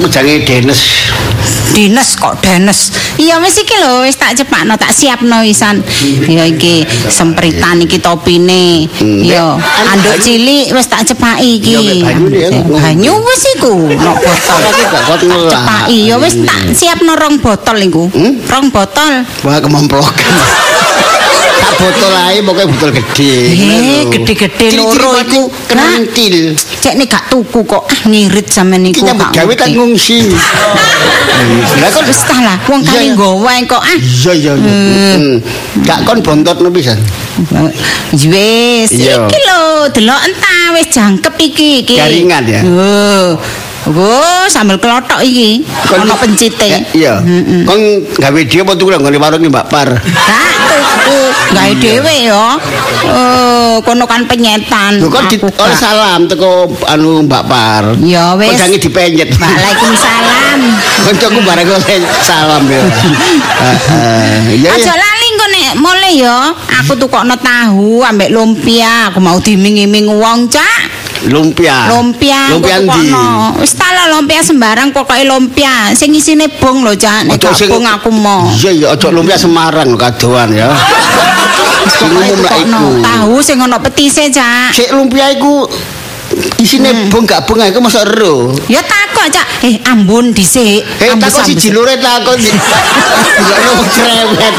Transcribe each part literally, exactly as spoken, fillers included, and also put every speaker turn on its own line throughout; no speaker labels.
aku jange Denes.
Dinas kok Denes. Iya wis iki lho wis tak cepakno tak siapno wisan. Ya iki sempritan iki topine. Ya anduk cilik wis tak cepaki iki. Banyu wis iku nok botol. Cepaki ya wis tak siapno rong botol iku. Rong botol.
Wah kememplokan. Tak botol ae pokoke botol gede.
Eh gede-gede loro iku
kentil.
Cek nek gak tuku kok ah ngirit sampean niku.
Kita gawe tak ngungsi.
Lah kok wis tah lah wong kali nggawa kok ah.
Iya iya. Gak kon bontotno pisan.
Wis iki lho delok entah wis jangkep iki iki.
Garingan ya.
Oh. Oh, sambal klothok iki. Ono pencite.
Iya. Kon gawe dhewe apa tuku nang warung Mbak Par?
Gak tuku, gawe dhewe ya. Oh, kono kan penyetan.
Lho kon oleh salam teko anu Mbak Par.
Ya wis.
Kok jange dipenyet.
Waalaikumsalam.
Koncoku bareng oleh salam ya. Heeh.
Aja lali kok nek mule ya. Aku tukokno tahu ambek lumpia. Aku mau diming-iming wong, Cak.
Lumpia.
Lumpia.
Lumpia ndi?
Wis tala lumpia sembarang pokoke lumpia. Sing isine bong lho, Cak. Nek gak bong aku mau.
Iya ya, aja lumpia Semarang kadoan ya. Sing umum lak iku.
Tahu sing ono petise, Cak.
Sik lumpia iku isine hmm. bong gak bong iku mosok ero.
Ya takok, Cak. Eh, ambun dhisik.
Eh, takok siji lure takok. Delokno cerewet.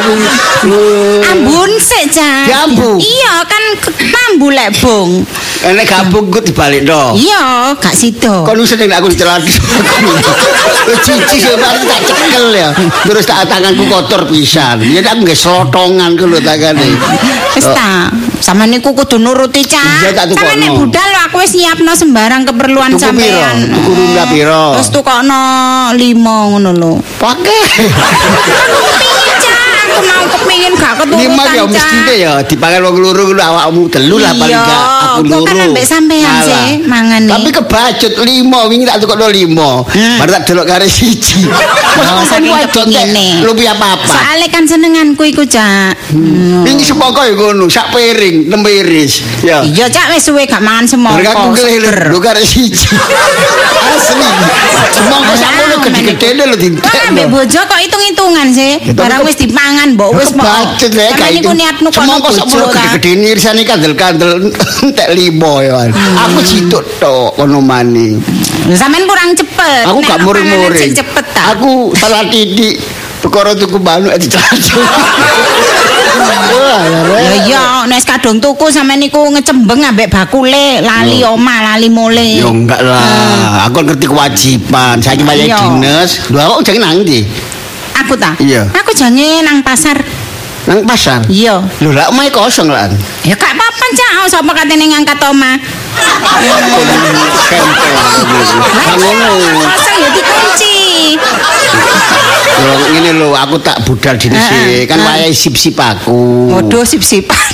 Ambun sik, Cak.
Diambu.
Iya, kan tambu lek bong.
Enek gabung ku dibalikno.
Iya, gak sida.
Kon wis nek aku dicelani. Cici sampeyan tak cekel ya. Terus tak tanganku kotor pisan. Ya aku nggih slotongan ku lho takane.
Wis ta. Sama niku kudu nuruti, Cak.
Iya, tak tukokno.
Sama nek budal lho aku wis nyiapno sembarang keperluan sampean.
Tuku rumah piro?
Terus tukokno lima ngono lho.
Pakai.
Aku mau kepengin gak keturutan.
Lima ya mestine ya dipangan wong loro kuwi awakmu telu lah paling gak aku loro.
Iya, kan ambek sampean sih mangane.
Tapi kebacut lima wingi tak tukokno lima. Baru tak delok kare siji.
Oh, saking kepengine.
Lumpia apa-apa.
Soale kan senenganku iku, Cak.
Wingi semangka ya ngono, sak piring, enam iris. Ya.
Iya, Cak wis suwe gak mangan semangka.
Aku kelir lho kare siji. Asli. Semangka sakmono gede-gedene lho dintek.
Ambek bojo kok hitung-hitungan sih. Barang wis dipangan mbok wis mau. Karena niku niatmu kono bojo ta.
Gede-gedene irisane kandel-kandel entek lima ya. Aku situk tok kono mani.
Sampeyan kurang cepet.
Aku gak muring-muring.
Cepet ta.
Aku salah titik. Perkara tuku manuk dicacu.
Ya iya, nek kadung tuku sampeyan niku ngecembeng ambek bakule, lali omah, lali mule.
Ya enggak lah. Aku ngerti kewajiban. Saiki wayahe dinas. Lho aku jange nang ndi?
Aku ta?
Iya.
Aku jange nang pasar.
Nang pasar?
Iya.
Lho lah omahe kosong lah.
Ya gak apa-apa, Cak. Sapa katene ngangkat omah. Kosong ya dikunci.
Lho ngene lho aku tak budal dine sih. Kan wayahe sip-sip aku.
Waduh sip-sipan.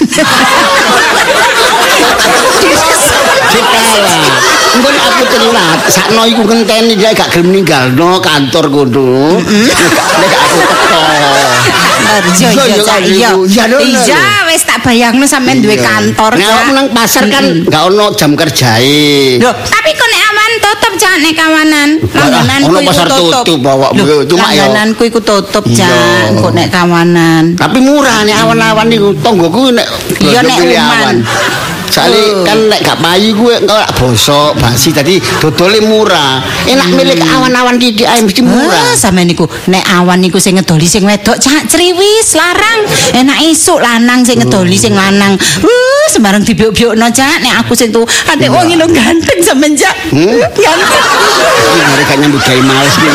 Cekala. Engko aku telat, sakno iku ngenteni dia gak gelem ninggalno kantor kono. Nek aku teko.
Iya iya iya. Iya wis tak bayangno sampean duwe kantor.
Nek aku nang pasar kan gak ono jam kerjae.
Lho, tapi kok nek awan tutup Cak nek kawanan. Langgananku iku tutup.
Cuma ya.
Langgananku iku tutup Cak, kok nek kawanan.
Tapi murah nek awan-awan niku tonggoku nek
iya nek awan.
Soalnya kan nek gak payu gue engko lak bosok basi tadi dodole murah. Enak milik awan-awan titik ae mesti murah.
Ah, sampe niku nek awan niku sing ngedoli sing wedok Cak criwis larang. Enak isuk lanang sing ngedoli sing lanang. Uh, sembarang dibiuk-biukno Cak nek aku sing tu atik wong iki ganteng sampean Cak. Ganteng.
Iki gak nyambut gawe males iki.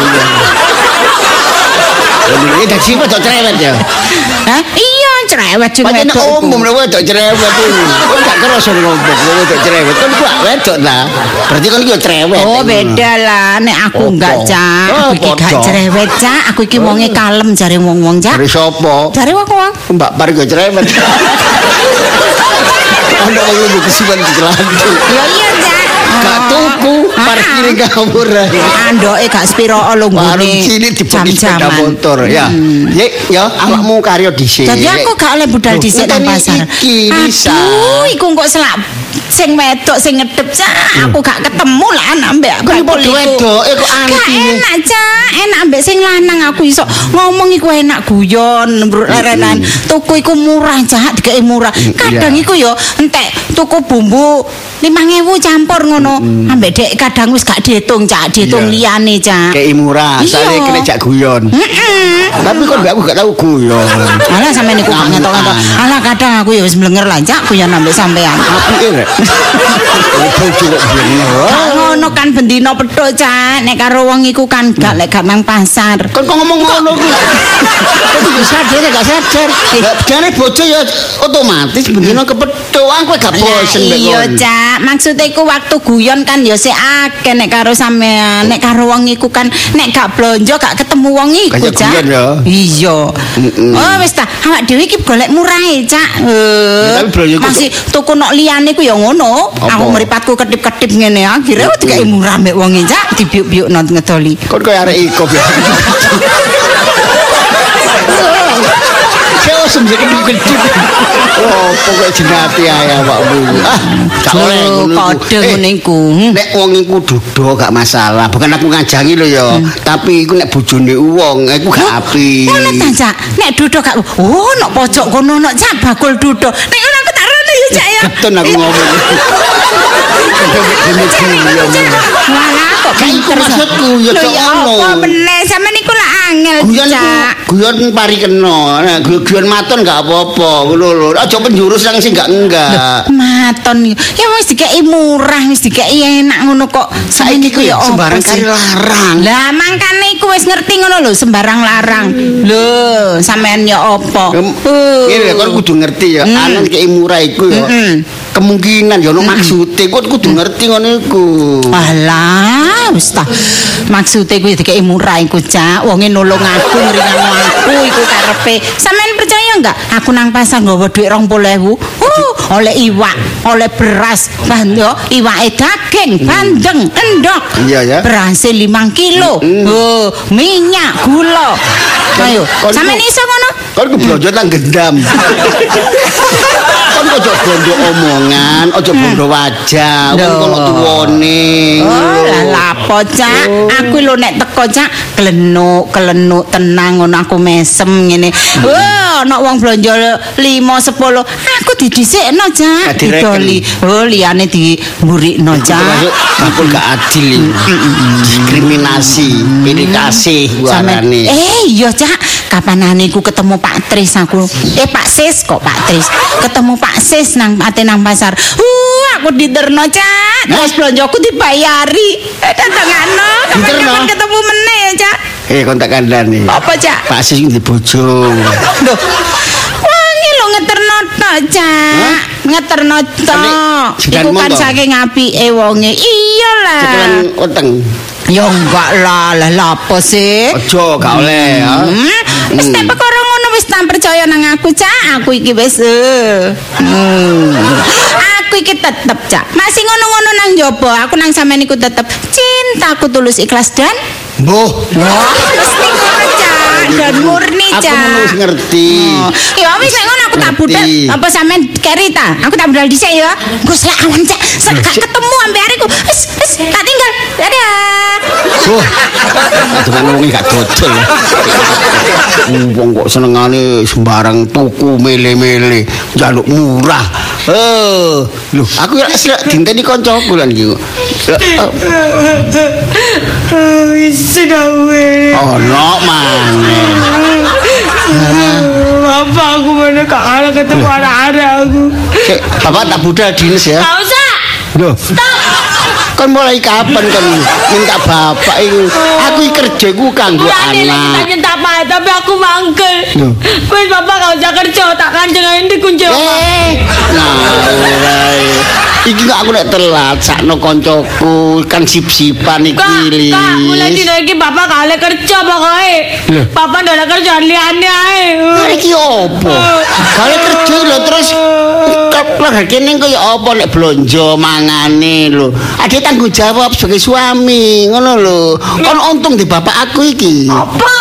Ini dak sing wedok cerewet ya.
Hah? Iya cerewet sing wedok.
Pancen umum lho wedok cerewet iki. Kok gak kerasa ngombok wedok cerewet. Kan gua wedok ta. Berarti kan iki cerewet.
Oh beda lah nek aku enggak Cak. Aku iki gak cerewet Cak. Aku iki wonge kalem jare wong-wong Cak.
Jare sapa?
Jare wong-wong.
Mbak Par kok cerewet. Ana wong lu kesuwen dicelantu.
Ya iya Cak.
Gak tuku. parkir ngawur.
Andoke gak spiro lho
Warung
nggone.
cilik dibeli sepeda motor ya. Yek ya awakmu karyo dhisik.
Jadi aku gak oleh budal dhisik nang pasar. Aduh, iku kok selak sing wedok sing ngedep cak. Aku gak ketemu lah ambek
Kok padha wedoke kok
Gak
anti.
enak cak, enak ambek sing lanang aku iso ngomong iku enak guyon lerenan. Tuku iku murah cak, dikeki murah. Kadang iku yo entek tuku bumbu lima ewu campur ngono. Ambek dek kadang wis gak diitung cak, diitung liyane cak.
Kei murah, asale kena jak guyon. Tapi kok mbak aku gak tau guyon.
Alah sampe niku gak ngetok-ngetok. Alah kadang aku ya wis mlenger lah cak guyon ambek sampean.
Apike rek. Bojo kok blenger.
Ngono kan bendino petuk cak, nek karo wong iku kan gak lek gak nang pasar.
Kon kok ngomong ngono ku. Kok bisa sadar gak sadar. Jane bojo ya otomatis bendino kepethuk. Aku gak bosen mbek
Iya cak, maksudnya iku waktu guyon kan ya sik akeh nek karo sampean, nek karo wong iku kan nek gak blonjo gak ketemu wong iku
Kayak
cak.
guyon ya.
Iya. Oh wis ta, awak dhewe iki golek murahe cak. Eh,
tapi blonjo iku
masih tuku nok liyane ku ya ngono. Aku mripatku ketip-ketip ngene akhire dikeki murah mbek wong e cak, dibiuk-biuk nang ngedoli.
Kon koyo arek iko ya. Kau sendiri gede. Oh, pokoknya jenati ae awakmu. Ah, gak oleh ngono iku.
Kode ngene iku.
Nek wong iku dudo gak masalah. Bukan aku ngajangi lho ya, tapi iku nek bojone wong iku gak apik.
Ngono ta cak, nek dudo gak oh nok pojok kono nok cak bakul dudo. Nek ngono aku tak rono ya cak ya.
Keton aku ngomong.
Walah kok
Iku maksudku ya
Lho
cok
ya
ngono.
apa meneh sampean niku lah angel
Guyon iku
cak.
guyon pari kena. Nek guyon maton gak apa-apa. Ngono lho. Aja penjurus nang sing gak enggak.
Maton ya wis dikeki murah wis dikeki enak ngono kok.
Saiki ku ya
apa
sembarang
sih?
kari larang.
Lah mangkane iku wis ngerti ngono lho sembarang larang. Lho, sampean ya apa?
Ngene kon kudu ngerti ya, anan kei murah iku ya. Kemungkinan ya ono maksude, kok kudu ngerti ngono iku.
Alah, wis ta. Maksude kuwi dikeki murah iku, Cak. Wonge nulung aku, ngringan aku iku karepe. Sampeyan percaya enggak? Aku nang pasar nggawa dhuwit rong puluh ewu. Uh, oleh iwak, oleh beras, bando, iwake daging, bandeng, endok.
Iya ya.
Beras lima kilo. Oh, minyak, gula. Ayo, sampeyan iso ngono?
Kon ku blonjo nang gendam. Kon ojo bondo omongan, ojo bondo wajah, wong kono tuwone.
Oh, lah lapo, Cak? Aku lho nek teko, Cak, kelenuk, kelenuk tenang ngono aku mesem ngene. Oh, nek wong blonjo lima sepuluh, aku didhisikno, Cak, didoli. Oh, liyane dimburikno, Cak.
Aku gak adil. Diskriminasi, pilih kasih warane.
Eh, iya, Cak. Kapanane ku ketemu Pak Tris aku. Eh, Pak Sis kok Pak Tris. Ketemu Pak Sis nang ate nang pasar. Uh, aku diterno, Cak. Terus blonjoku dibayari. Eh, datangano. Kapan ketemu meneh, Cak.
Eh, kon tak kandhani.
Apa, Cak?
Pak Sis di bojo.
Loh. Wangi lo ngeterno tok, Cak. Ngeterno tok. Iku kan saking apike wonge. Iyalah.
Cekelan weteng.
Ya enggak lah, lah lapo sih?
Ojo gak oleh ya.
Wis tak perkara ngono wis tak percaya nang aku, Cak. Aku iki wis eh. Hmm. Aku iki tetep, Cak. Masih ngono-ngono nang njaba, aku nang sampean iku tetep cintaku tulus ikhlas dan
Mbuh.
mesti ngono, Cak. Dan murni, Cak.
Aku wis ngerti.
Oh. Ya wis nek ngono aku tak budal. Apa sampean keri ta? Aku tak budal dhisik ya. Gus lek awan, Cak. Gak ketemu ambek areku. Wis, wis, tak tinggal. Dadah.
Wah, dengan wong gak dodol. Wong kok senengane sembarang tuku mele-mele, njaluk murah. Eh, lho, aku ya dinteni kancaku lan iki.
Wis gawe.
Ono maneh.
Bapak aku mana kalah ketemu anak-anak aku.
Cek, Bapak tak budal dinas ya.
Gak usah.
Loh. Kan mulai kapan kan minta bapak itu? Aku kerja ku kanggo
Mulane
anak.
lagi tak apa, tapi aku mangkel.
Loh.
Wis bapak gak usah kerja, tak kanjengan di kunci
Eh,
omah.
nah, mulai. Iki kok aku nek telat sakno koncoku kan sip-sipan iki
Kak,
Lis.
kak, mulai dino iki bapak kale kerja pokoknya.
Loh.
Bapak ndak ada kerjaan liane ae.
Lah iki opo? Kale kerja lho terus keluarga kene kaya apa nek blonjo mangane lho. Ada tanggung jawab sebagai suami, ngono lho. Kon untung di bapak aku iki.
Apa?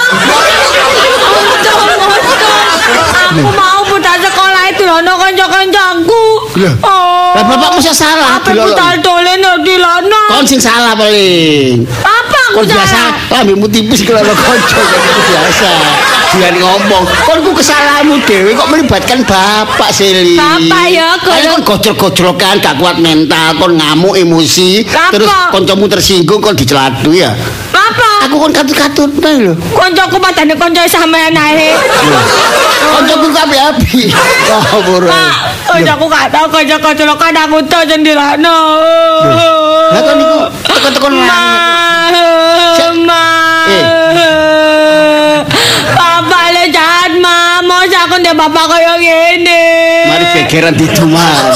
Aku mau budal sekolah itu lono kanca-kancaku. Oh.
Lah bapak mesti salah.
Apa budal dolen di lono?
Kon sing salah paling.
Apa
Kon
aku
biasa lambemu tipis kalau lo kanca biasa. Jangan ngomong. Kon ku kesalahanmu dhewe kok melibatkan bapak Seli.
Bapak ya,
kon gojol-gojlokan gak kuat mental, kon ngamuk emosi,
Apa?
terus kancamu tersinggung kon diceladu ya.
Apa?
Aku kon katut-katut lho.
Koncoku padane konco sampean ae.
Kancaku api-api. Oh, boro.
Pak, koncoku gak tau konco-konco kan aku tau jendelano.
Lah kon niku tekan-tekan
Ma. Bapak le jahat ma, mau aku ndek bapak kaya ngene.
Mari gegeran diduman.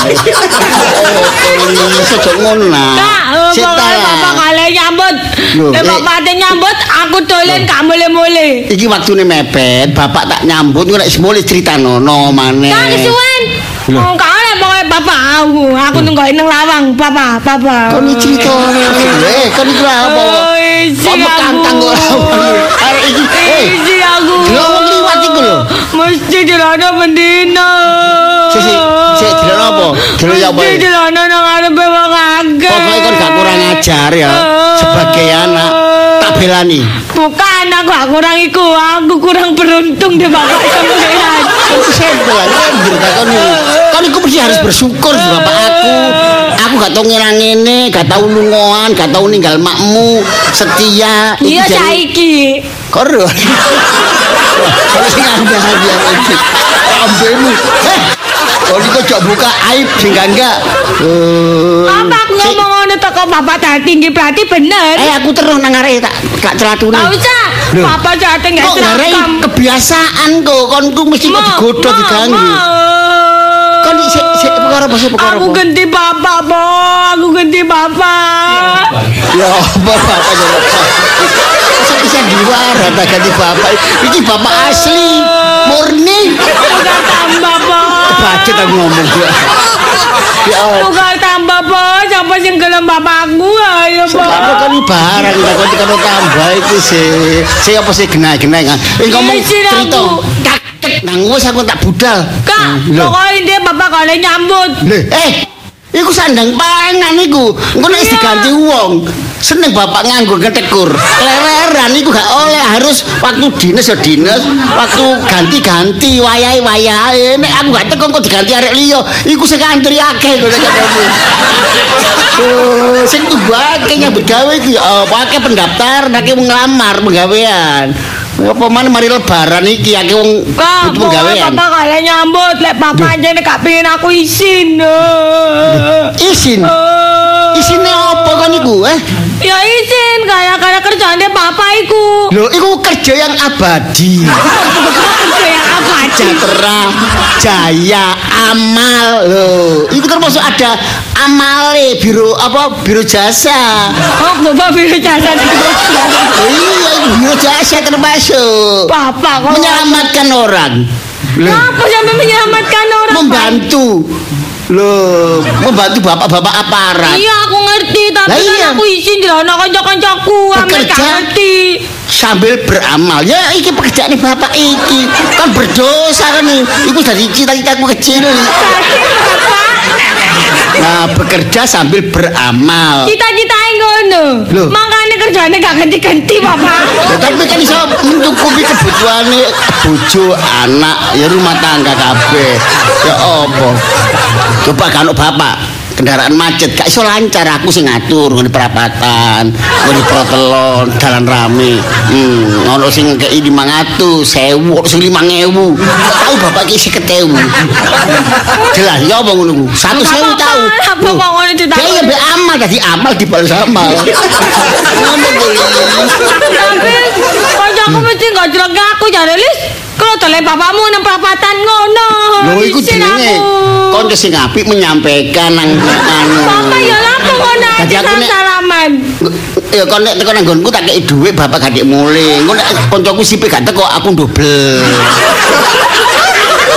Iso ngono lah.
Kak, pokoknya bapak kalian nyambut. Nek bapak ate nyambut, aku dolen gak mule-mule.
Iki waktune mepet, bapak tak nyambut nek semule critanono maneh.
Kak kesuwen. Oh, kak oleh pokoknya bapak aku. Aku nunggu nang lawang, bapak, bapak.
Kon iki crito. Eh, kon iki lha apa?
Oh, isi
Kok kantang
aku.
kok. Arek iki. Eh,
Isi aku.
lho wong liwat iku lho.
Mesti dilono bendino.
Si si, si dilono apa? Dilono ya apa?
Mesti dilono nang arepe wong akeh.
Pokoke kon gak kurang ajar ya. Sebagai anak tak belani.
Bukan aku gak kurang iku, aku kurang beruntung deh bapak sampean.
Kon sempel aja kon iki. Kon iku mesti harus bersyukur di bapak aku. Aku gak tau ngira ngene, gak tau lungoan, gak tau ninggal makmu, setia. Iki
Iya
jadi-
saiki.
Koro. Kalau sing anda hadiah iki. Ambemu. Eh. Kau ini kok buka aib sing enggak. Eh.
Apa aku
si-
ngomong ngono teko bapak dah tinggi berarti bener.
Eh aku terus nang arek tak gak celatune.
Gak usah.
Loh.
Bapak jatuh gak
Kok ngarep
serakam.
kebiasaan kok konku mesti kok digodho diganggu. Kon sik sik perkara apa sih perkara
Aku
apa?
ganti bapak, Bo. Aku ganti bapak.
Ya apa bapak ya. Masa bisa diwara tak ganti bapak. Iki bapak asli, murni.
Tukar tambah, Bo.
Bacet aku ngomong ya. Ya Allah.
Tukar tambah, Bo. Siapa sing gelem bapakku? Ayo, Bo.
Sekarang kan barang kita kau tekan tambah itu sih. Saya apa sih genah-genah kan? Eh ngomong
Iya, sih,
cerita.
aku.
Tak tak nang wis aku tak budal.
Kak,
Loh.
pokoknya dia bapak kalian nyambut.
Lho, eh iku sandang pangan iku. Engko nek
Iya.
diganti wong. Seneng bapak nganggo ketekur. Klereran iku gak oleh, harus waktu dinas ya dinas, waktu ganti-ganti wayahe wayahe. Nek aku gak teko kok diganti arek liya, iku sing antri akeh kok nek ketemu. Oh, sing tubake nyambut gawe iki apa akeh pendaftar, akeh wong nglamar penggawean. Apa mana mari lebaran iki akeh wong
Kak,
butuh
pokoknya
penggawean.
bapak kalian nyambut. Lek bapak aja nih gak pengen aku izin.
Isin. Isine apa kan iku, eh?
Ya izin, kayak kayak kerjaan dia bapak iku.
Loh, iku kerja yang abadi.
Kerja yang apa aja?
Sejahtera, jaya, amal. Loh, itu termasuk ada amale biro apa? Biro jasa.
Oh, bapak biru jasa itu.
Oh, iya, itu biro jasa termasuk.
Bapak kok
Menyelamatkan orang. Loh,
apa sampai menyelamatkan orang? Pak?
membantu. Loh, membantu bapak-bapak aparat.
Iya, aku ngerti, tapi
Lah
kan
iya.
aku izin di sana kanca-kancaku, ame gak
Bekerja.
ngerti.
Sambil beramal. Ya, iki pekerjaan bapak iki. Kan berdosa kan nih. Iku dari cita-citaku kecil. Nah, bekerja sambil beramal.
Cita-cita ngono.
Loh.
Makanya kerjanya gak ganti-ganti, Bapak.
Ya, tapi kan iso mencukupi kebutuhan bojo, anak, ya rumah tangga kabeh. Ya apa? Coba kan bapak kendaraan macet gak iso lancar, aku sing ngatur ngene perapatan, ngene protelon, dalan rame. Hmm, ono sing kei lima ratus, sewu, sing lima ribu. Tahu bapak ki seket ribu. Jelas ya apa ngono ku? satu sewu tahu.
Apa kok ngono ditakoni?
Ya be amal tadi amal dibalas amal. Ngono kuwi.
Tapi kancaku mesti gak jelek aku jare Lis. Kalau tole bapakmu nang perapatan ngono.
Lho iku
Izin
jenenge
aku.
kanca sing apik menyampaikan nang anu.
Bapak ya lapo ngono
Dadi
aja
aku nek-
salaman.
Ya kon nek teko nang nggonku tak kei dhuwit bapak gak dik mulih. Engko nek kancaku sipe gak teko aku dobel.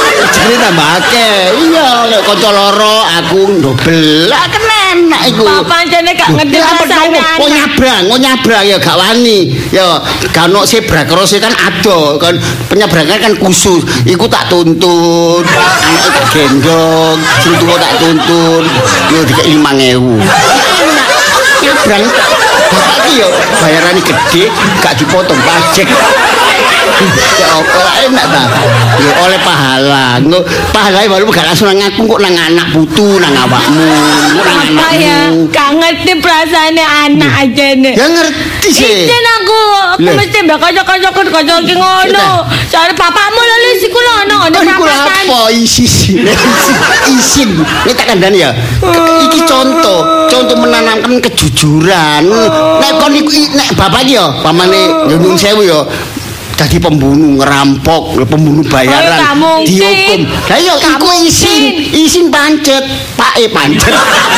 Jare tambah akeh. Iya, lek kanca loro aku ndobel. Lah kenen enak iku.
Bapak jane gak ngerti rasane.
Kok nyabrang, kok nyabrang ya gak wani. Ya gak ono sebra krose kan ado kan penyabrangan kan khusus. Iku tak tuntun. Anak tak gendong, sing tuwa tak tuntun. Yo dikek lima ewu. Nyabrang bapak iki yo bayarane gede, gak dipotong pajak. Ya apa enak ta? Ya oleh pahala. Engko pahala baru gak langsung nang aku kok nang anak putu nang awakmu. Nang
Apa ya? Gak ngerti perasaane anak aja nih.
Ya ngerti sih.
Isin aku, aku
Lah.
mesti mbak kanca-kancaku kanca iki ngono. Jare bapakmu lho Lis iku lho ono ngene
Kan iku
perapatan.
apa isin? Isin. Ini tak kandhani ya. Iki contoh, contoh menanamkan kejujuran. Nek kon iku nek bapak iki ya, pamane yo nyuwun sewu ya. Jadi pembunuh ngerampok, pembunuh bayaran,
Oh, gak mungkin.
dihukum. Lah iya,
Gak
iku isin, isin pancet, pak e pancet.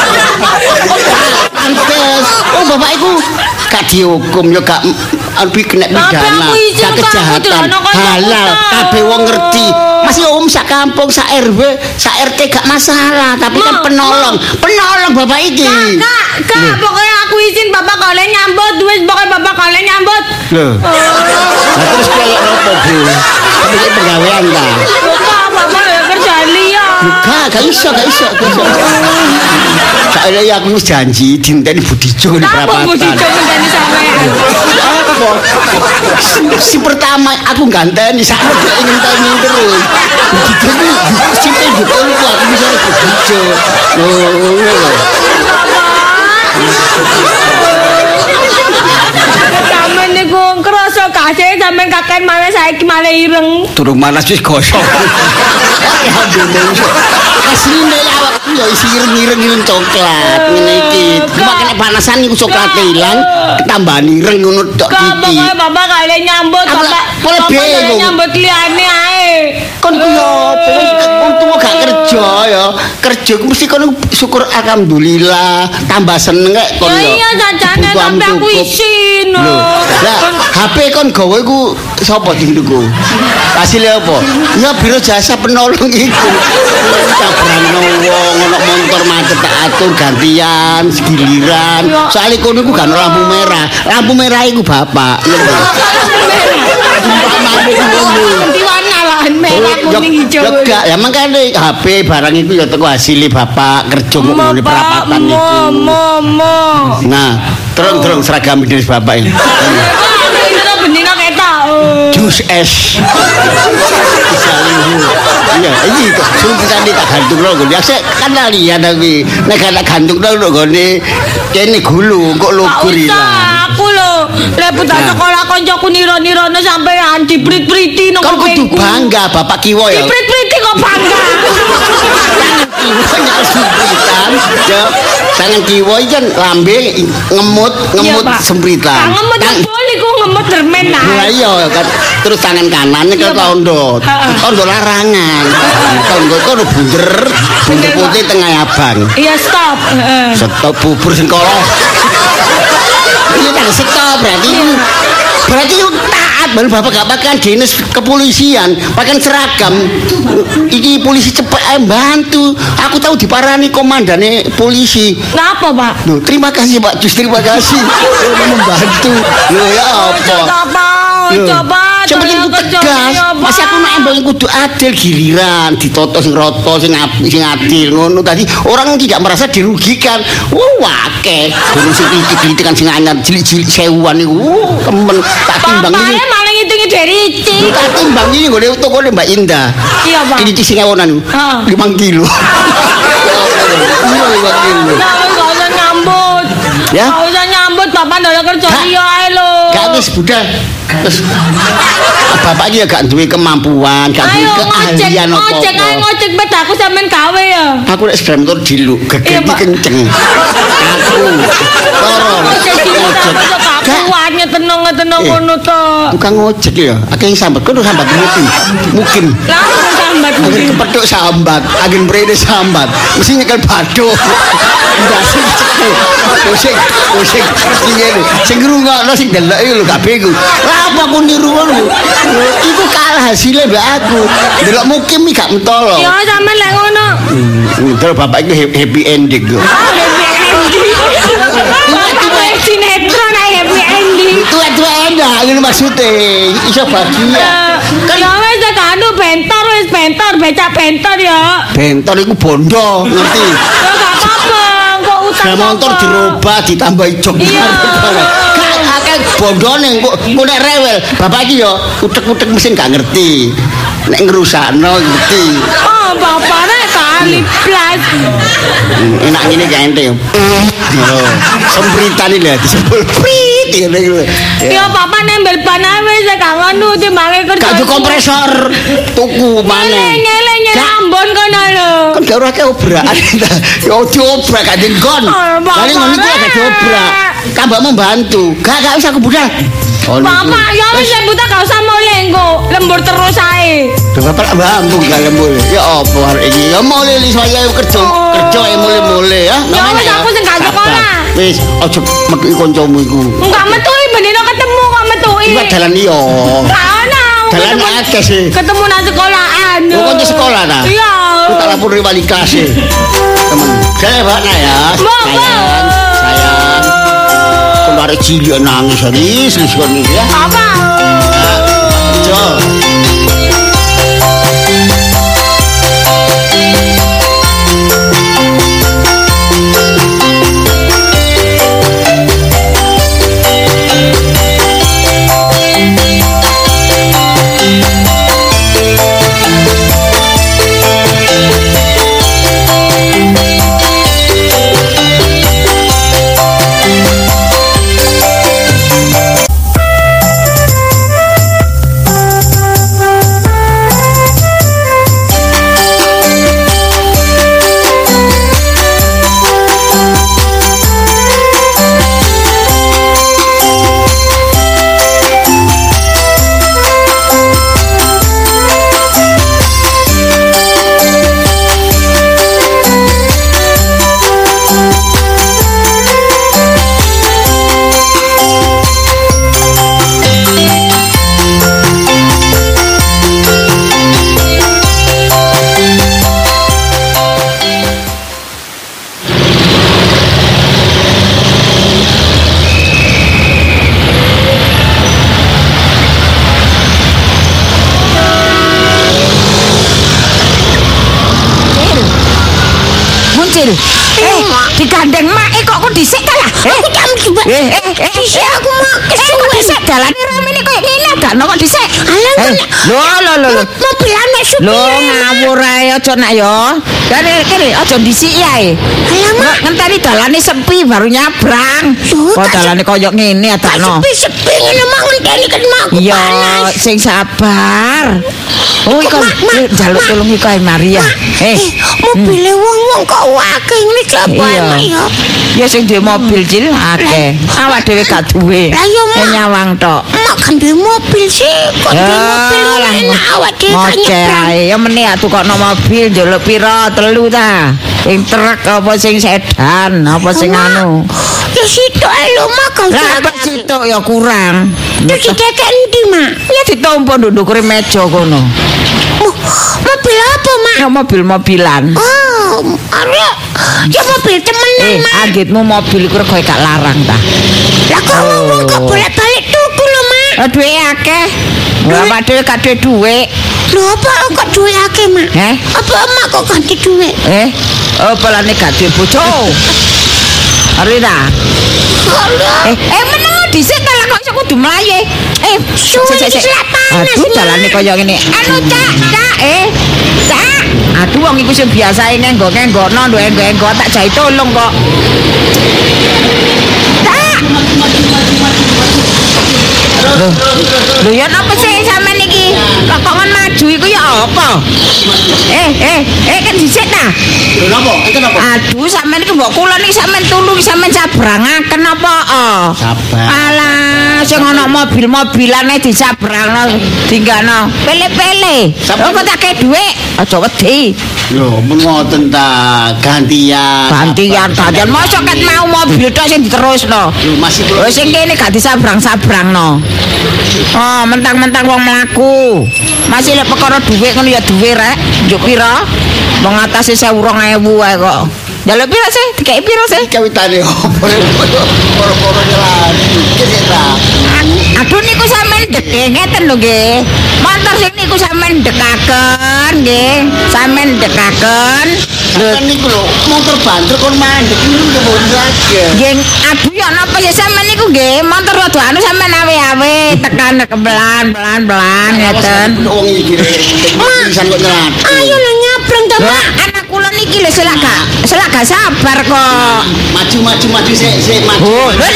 Pantes. Oh bapak iku gak dihukum ya gak lebih kena
Tapi
pidana,
aku izin
gak
kok, aku
kejahatan,
dilono kancaku
halal,
tau.
kabeh wong ngerti. Masih om sak kampung, sak R W, sak R T gak masalah, tapi kan
Ma,
penolong, penolong bapak iki.
Kak, kak, pokoknya aku izin bapak kalian nyambut, wis pokoknya bapak kalian nyambut.
Loh. Lah terus koyo apa, Bu? Tapi iki penggawean ta?
Bapak, bapak ya kerja liya.
Gak, gak iso, gak iso, gak iso. Soalnya ya aku wis janji dinteni Budijo di
Apa
perapatan.
mau dicomotani sampean?
Apa? Si, si pertama aku ganteni sakno dia ngenteni terus. Budijo iki sipe betul ku aku bisa Budijo. Oh, ngono lho.
Sampeyan niku krasa kasih sampeyan kakek malah saiki malah ireng.
Durung manas wis gosong. Asline awakku ya isi ireng-ireng ireng coklat ngene iki. Cuma kena panasan iku coklat ilang, ketambahan ireng ngono tok
Kak,
iki.
pokoknya bapak kalian nyambut,
Aku
bapak
boleh
bapak kalian
bingung.
nyambut liane ae.
Kon ku yo apa untung gak kerja ya. Kerja ku mesti kon syukur alhamdulillah, tambah seneng kek kon
Ya
yo.
iya jajane
Kebutuhan
tapi aku
cukup.
isin.
Lho, lah H P kon gawe ku sapa sing tuku? Hasilnya apa? Ya biro jasa penolong iku. Cabrano wong ono motor macet tak atur gantian giliran. Soale kono iku gak ono lampu merah. Lampu merah iku bapak.
Ganti warna lah merah kuning hijau.
Ya gak, ya makane H P barang iku ya teko hasilnya bapak kerja kok ngene perapatan iku.
Momo.
Nah, terus-terus seragam dinas bapak ini.
Itu benika ketok.
Jus es. Iya, iki suntikan tak gantung lho. Ya sik kan lihat tapi nek gak gantung lho gone kene gulu kok lugur ilang.
Aku lho, lek budal
Nah.
sekolah koncoku niro-nirono sampean diprit-priti nang
Kon kudu
kupingku.
bangga bapak kiwo ya.
Diprit-priti kok bangga.
Kiwo nyekel sempritan. Ya, tangan kiwo iki kan lambe ngemut ngemut
Iya, Pak.
sempritan.
Kang ngemut
Tang-
boli ku ngemut dermen
Lah
nah.
iya kan terus tangan kanannya
Iya,
ke
Pak.
tondo.
Heeh.
Tondo larangan. Tondo kono bunder, bunder putih tengah abang.
Iya stop. Heeh.
Stop bubur sengkolo. Ini kan stop berarti. Berarti itu taat baru bapak gak makan dinas kepolisian, pakai seragam. Iki polisi cepet ae bantu. Aku tahu diparani komandane polisi.
Ngapa, Pak?
Loh, terima kasih Pak Jus, terima kasih. Udah membantu. Loh ya apa?
Coba,
Loh,
coba.
yang penting ku tegas. Masa aku nek embong kudu adil giliran, ditoto sing roto sing api sing adil ngono tadi orang tidak merasa dirugikan. Wah, akeh. Durung sing iki-iki sing anyar cilik-cilik sewuan iku. Wuh, temen tak timbang iki.
Bapaknya malah ngitungi dari
Lu
Ici.
tak timbang iki ngene toko Mbak Indah.
Iya, Pak.
Ini sing ewonan iku.
Heeh.
lima kilo. Iya, lima kilo.
Ya, gak usah nyambut.
Ya?
Gak usah nyambut, bapak ndak kerja
Gak.
liya ae lho.
Gak wis budal. Terus bapak iki ya gak duwe kemampuan, gak duwe
Ayo ngojek,
keahlian
ngojek ae
apa-apa.
ngojek bet aku sampean gawe ya.
Aku nek sepeda motor diluk,
Iya,
gegeti
Pak.
kenceng. Aku loro.
Ngojek di
Ngojek.
aku
Gak,
kuatnya tenang-tenang
Eh.
ngono to.
tukang ngojek ya, akeh yang sambat, kono sambat mungkin. Mungkin.
Lah aku sambat sambat.
Angin kepethuk sambat, angin mrene sambat. Mesti nyekel bathuk. Ndase cekel. Pusing, pusing. Ngene. Sing ngrungokno sing delok iki lho gak bingung. Lah apa aku niru ngono? Iku kalah hasilnya mbak aku. Delok mukim iki gak mentolo.
Ya sampean lek ngono.
Terus bapak iki happy ending kok.
Ah, happy ending. Bapak sinetron ae happy ending.
Tua-tua enak ngene maksude. Iso bahagia.
Ya wis anu bentor wis bentor, becak bentor ya.
Bentor iku bondo, ngerti?
Ya gak apa-apa, kok utang.
Saya motor dirubah ditambahi jok.
Iya.
Akeh bondone kok kok nek rewel. Bapak iki ya utek-utek mesin gak ngerti. Nek ngrusakno ngerti.
Oh, bapaknya kali plus.
Enak ngene gak ente yo. Oh, sempritan iki lho disebul prit ngene iki.
Ya bapak nembel ban ae wis gak ngono timbange kerja.
Gak kompresor tuku maneh.
Nyele nyele ambon kono lho.
Kan gak ora keobrakan. Ya diobrak gak dengkon. Paling ngono iku gak diobrak. Kambak membantu. Gak gak usah kebudal.
Bapak, ya wis buta gak usah mulai engko. Lembur terus ae.
Bapak bambung gak lembur. Ya apa hari ini? Ya mulai li saya kerja, kerja ya mulai-mulai ya.
Ya wis aku sing gak sekolah.
Wis ojo metu kancamu iku.
Enggak metuhi benino ketemu kok metuhi.
Iku dalan iya.
Gak ono.
Dalan akeh sih.
Ketemu nang sekolahan.
Oh, kanca sekolah ta?
Iya.
Aku tak lapor wali kelas e. Temen. Saya Pak nah ya. Sayang, sayang. Kalau ada cilik nangis serius serius ya.
Apa?
Jo.
Cil. Eh, digandeng mak eh kok kok dhisik ta lah. Aku jam juga. Eh, eh, eh, dhisik aku mak kesuwen. Dhisik dalane ramene koyo ngene gak ono kok dhisik. Alah, lho lho lho. Mobilan mek supir. Lho ngawur ae aja nak yo. Kene kene aja dhisik ae. Alah mak ngenteni dalane sepi baru nyabrang. Kok dalane koyo ngene adakno. Sepi-sepi ngene mak ngenteni kan mak. Iya, sing sabar. Oh, iku njaluk tulung iku ae Maria. Eh, mobile wong-wong kok akeh ngene klapane ya. Ya sing duwe mobil Cil akeh. Awak dhewe gak duwe. Lah yo nyawang tok. Mak kan duwe mobil sih, kok duwe mobil enak awak dhewe kan nyebrang. Ya meneh tukokno mobil njaluk pira? Telu ta. Sing truk apa sing sedan, apa sing anu. Ya sitok ae lho mak kok. Lah apa sitok ya kurang. Terus dikek endi mak? Ya ditompo nduk-ndukure meja kono. Mobil apa mak? Ya mobil-mobilan. Oh, arek. Ya mobil temenan eh, mak. Eh, agitmu mobil iku rego gak larang ta. Lah kok ngomong kok bolak-balik tuku lho mak. Lah duwe akeh. Lah mak dhewe gak duwe dhuwit. Lho apa kok duwe akeh mak? Eh? Apa emak kok ganti dhuwit? Eh, apa lane gak duwe bojo? Arep ta? Eh, eh meneng dhisik ta kok iso kudu mlayu. Eh, suwe iki panas. Aduh, dalane kaya ngene. Anu, Cak, Cak, eh. Cak. Aduh, wong iku sing biasae ngenggo-ngenggono, nduk enggo-enggo tak jai tolong kok. Cak. Lho, lho ya napa sih sampean iki? Kok kon maju iku ya apa? Eh, eh, eh kan dhisik ta.
Lho napa? Enten apa?
Aduh, sampean iki mbok kula niki sampean tulung sampean sabrangaken apa?
Sabar.
Alah, sing ana mobil-mobilane disabrangno, dinggano. Pele-pele. Lho kok tak kei dhuwit, aja wedi.
Lho, men ngoten ta, gantian.
Gantian, gantian. Mosok ket mau mobil tok sing diterusno.
Lho, masih belum.
Wis sing kene gak disabrang-sabrangno. Oh, mentang-mentang wong mlaku. Masih lek perkara dhuwit ngono ya dhuwit rek. Njuk pira? Wong atase sewu rong ewu ae kok. Njaluk pira sih? Dikeki pira sih?
Kawitane opo? Poro-poro nyelani. Iki ta.
Aduh niku sampean deke ngeten lho nggih. Montor sing niku sampean dekaken nggih. Sampean dekaken.
Sampeyan niku lho, motor banter kon mandek niku kebon saja.
Nggih, aduh ya napa sih sampean niku nggih, montor rada anu sampean awe-awe tekan pelan pelan-pelan ngeten.
Wong iki pisan kok nyelat.
Ayo lho nyabrang to, Pak. Anak kula niki lho selak gak selak gak sabar kok.
Maju maju maju sik sik maju.
Oh, lho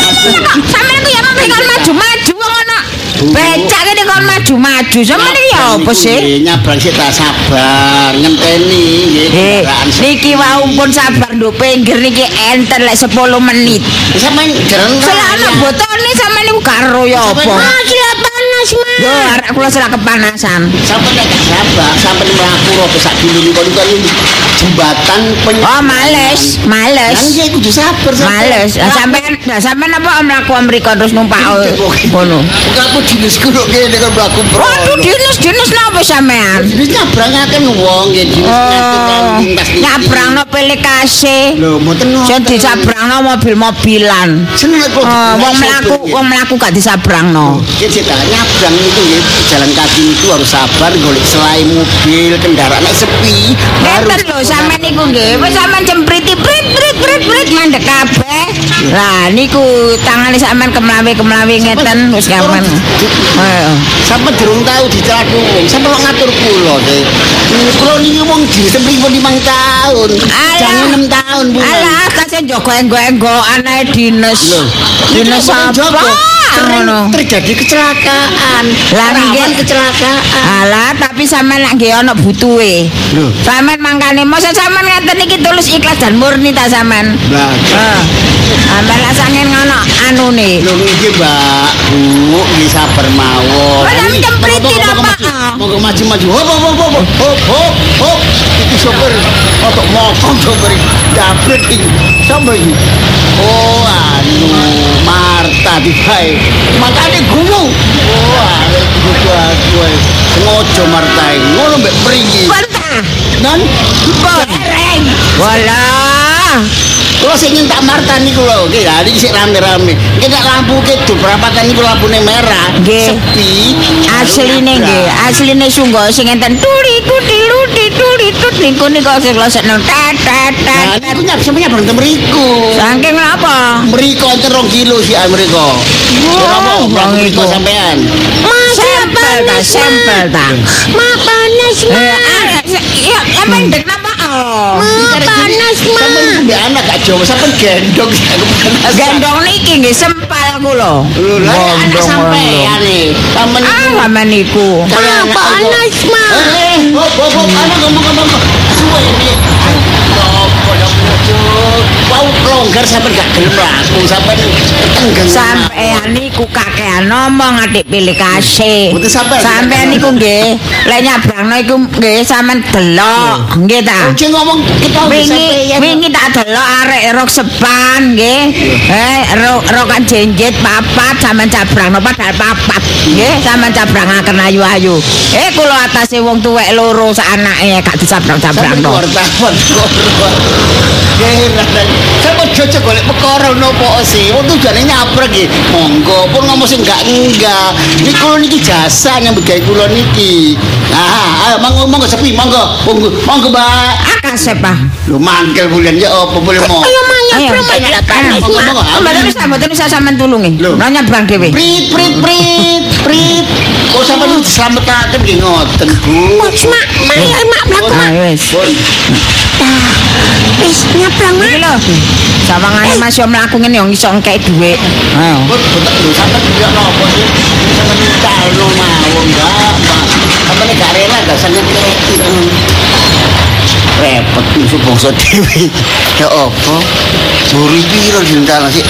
sampean ku ya memberikan maju-maju wong ana. Becak kene kon maju-maju. Sampeyan iki ya apa sih?
Nyabrang sik ta sabar, ngenteni nggih
Eh,
kendaraan.
niki wae pun sabar nduk pinggir niki enten lek sepuluh menit.
Sampeyan jeren.
Selana botone sampeyan niku karo ya apa?
Gila panas, Mas.
Yo, arek kula selak kepanasan.
Sampeyan nek gak sabar, sampeyan mlaku ro sak dulu niku kaya jembatan penyu.
Oh, males, males.
Kan iki kudu sabar sampeyan.
Males. Lah sampean, lah sampean apa mlaku mriko terus numpak ngono.
Bukan aku dinasku kok kene kan mlaku bro.
Waduh, dinas-dinas napa sampean?
Jadi nyabrangaken wong nggih dinas
Oh, nyabrangno pilih kasih.
Lho, mboten ngoten.
Sing disabrangno mobil-mobilan.
Seneng kok.
Oh, wong mlaku, wong mlaku gak disabrangno.
Nggih cita nyabrang itu nggih jalan kaki itu harus sabar golek selai mobil kendaraan nek sepi.
Ngeten lho sampean niku nggih, wis sampean jempriti prit prit prit prit mandek kabeh. Lah niku tangane sampean kemlawi-kemlawi ngeten wis sampean. Heeh.
Sampai durung tahu dicelak wong, sampai kok ngatur kula nggih. Kula niki wong disempripun limang tahun. Jangan enam tahun, Bu.
Alah, kasih njogo enggo-enggoan ae dinas. Dinas apa? Ngono.
Terjadi kecelakaan.
Lah nggih
Rawan kecelakaan.
Alah, tapi sampean lak nggih ana butuhe.
Lho.
Sampean mangkane mosok sampean ngeten iki tulus ikhlas dan murni ta sampean.
Lah,
Heeh. Sampean lak sangen ngono anune.
lho nggih, Mbak. Bu, nggih sabar mawon.
Lah,
Ini,
nyempriti
monggo, monggo,
apa?
maju. Monggo maju-maju. Hop hop hop hop hop hop hop. Iki sopir otok mokong sopir jabret iki. Sapa iki? Oh, anu Marta dibae. Makane guyu. Oh, arek kudu aku ae. Sengaja Marta iki. Ngono mbek mriki.
Bantah.
Nan
Bereng. Walah.
Kalau sing tak Marta niku lho, nggih lha iki sik rame-rame. Nggih nek lampu kidul perapatan niku lampune merah.
Nggih.
Sepi.
Asline nggih, asline sungguh sing enten tuli kuti luti tuli tut niku niku sing losekno tet tet
Nah,
tet.
niku nyap semuanya berhenti mriku.
Saking napa?
Mriku enten rong kilo sih mriku.
Wow,
Wong
iku.
iku sampean.
Sampel ta, sampel ta.
Ma panas, Ma.
Eh, ya, ya mendek napa? Oh.
Ma panas, Ma.
Sampeyan mbek anak gak Jawa sampeyan gendong.
Gendong niki nggih sempal kula.
Lho, lah anak
Gendong
sampean nih. Sampeyan
Ah,
niku.
sampean niku.
Kaya anak
panas,
kok.
Ma.
Eh, hop hop hop, anak ngomong-ngomong. Suwe iki. Apa ya bocor. Wau longgar sampeyan gak gelem laku sampeyan tenggen.
Sampean niku kakean ngomong adik pilih kasih.
Mboten sampean.
Sampean niku nggih, lek nyabrangno iku nggih sampean delok, nggih ta.
Ojo ngomong kita
Wingi wingi tak delok arek rok sepan nggih. Eh rok rokan jenjet papat sampean cabrangno padahal papat. Nggih, sampean cabrangaken ayu-ayu. Eh kula atase wong tuwek loro sak anake gak dicabrang-cabrangno.
wartawan Heran. Sampe jojo golek perkara nopo sih? Wong tujuane nyabrang nggih. Monggo pun ngomong sing enggak enggak. Niki kula niki jasa nyambut gawe kula niki. Ah, ayo monggo monggo sepi monggo. Monggo monggo, Mbak.
Akasep ah.
Lu mangkel bulan ya apa boleh mau?
Ayo, Ma,
Ayo,
nyabrang, Ma.
ayo,
Panas,
monggo,
Ma.
monggo.
Mboten bisa, mboten bisa sampean tulungi.
Lho.
Lah nyabrang dhewe.
Prit prit prit prit. Kok sampeyan diselametake nggih ngoten, Bu.
Mas, Ma. Ma, ayo, Ma, mlaku, Ma.
Ah wis.
Pun.
Wis,
Nyabrang
Iki lho. Sawangane Mas yo mlaku ngene yo iso engkek dhuwit. Ayo.
Kok betul lho sampean juga nopo sih? Sampeyan calno mawon enggak, Pak. Sampeyan gak rela gak seneng repot musuh bangsa dhewe. Ya apa? Buri piro dintal sih?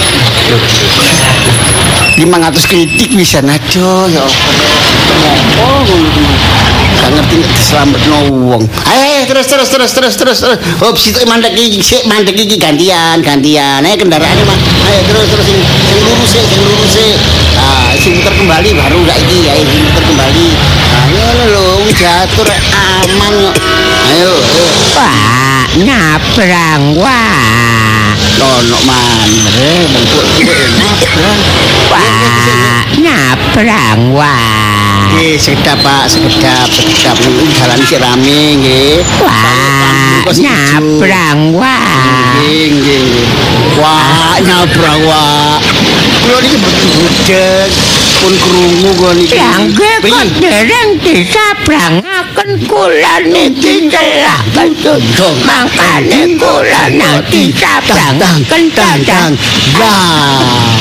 lima ratus kritik bisa najo ya apa? Apa ngono? Gak ngerti nek diselametno wong. Ayo terus terus terus terus terus. Hop situ mandek iki, sik mandek iki gantian, gantian. Ayo kendaraane mah. Ayo terus terus sing sing lurus sik, sing lurus sik. Nah, sing muter kembali baru gak iki, ayo sing muter kembali. Ayo lho, wis diatur aman kok. Ayo, ayo.
Wah, nyabrang wah.
Ono manre bentuk nyabrang.
Wah, nyabrang wah.
Nggih, sekedap Pak, sekedap, sekedap niku jalan sik rame nggih.
Wah, nyabrang wah.
Nggih, nggih, nggih. Wah, nyabrang wah. Kulo niki mboten budek, pun krungu kula niki.
Langge kok dereng disabrangaken kula niki celak ketutup mangkane kula nang disabrangaken dadang.
Lah,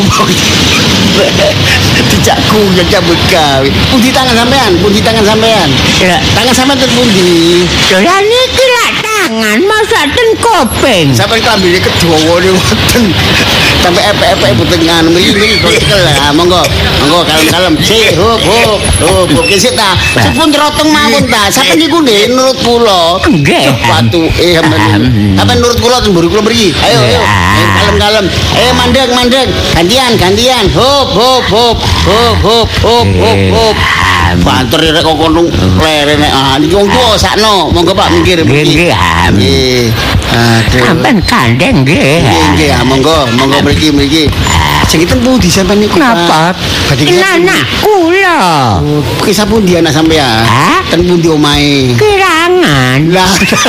tidak kuyang cabut gawe. Pundi tangan sampean? Pundi tangan sampean?
Ya,
Tangan sampean ten pundi?
lah niki lak tangan masa ten kopeng.
Sampai klambine kedawane wonten. Sampai epek-epek boten nganu mriki kok cekel. Ah, monggo. Monggo kalem-kalem. Sik, hop, hop. Hop, oke sik ta. Sepun rotong mawon ta. Sampai niku nggih nurut kula.
Nggih.
Patuke sampean. Sampean nurut kula ten mburi kula mriki. Ayo, ayo. Ayo, kalem-kalem. Eh mandek, mandek. Gantian, gantian. Hop, hop, hop. Hop, hop, hop, hop, hop. Banter rek kok kono lere nek ah niki wong tuwa sakno. Monggo Pak minggir mriki.
Nggih, am.
Nggih. Aduh.
Sampeyan kandeng nggih.
Nggih, nggih, ah, monggo, monggo mriki mriki. Sing ten pundi sampean niku?
Napa?
Badhe
Anak kula.
kisah pundi anak sampean?
Hah?
Ten pundi omahe?
Kirangan.
Lah.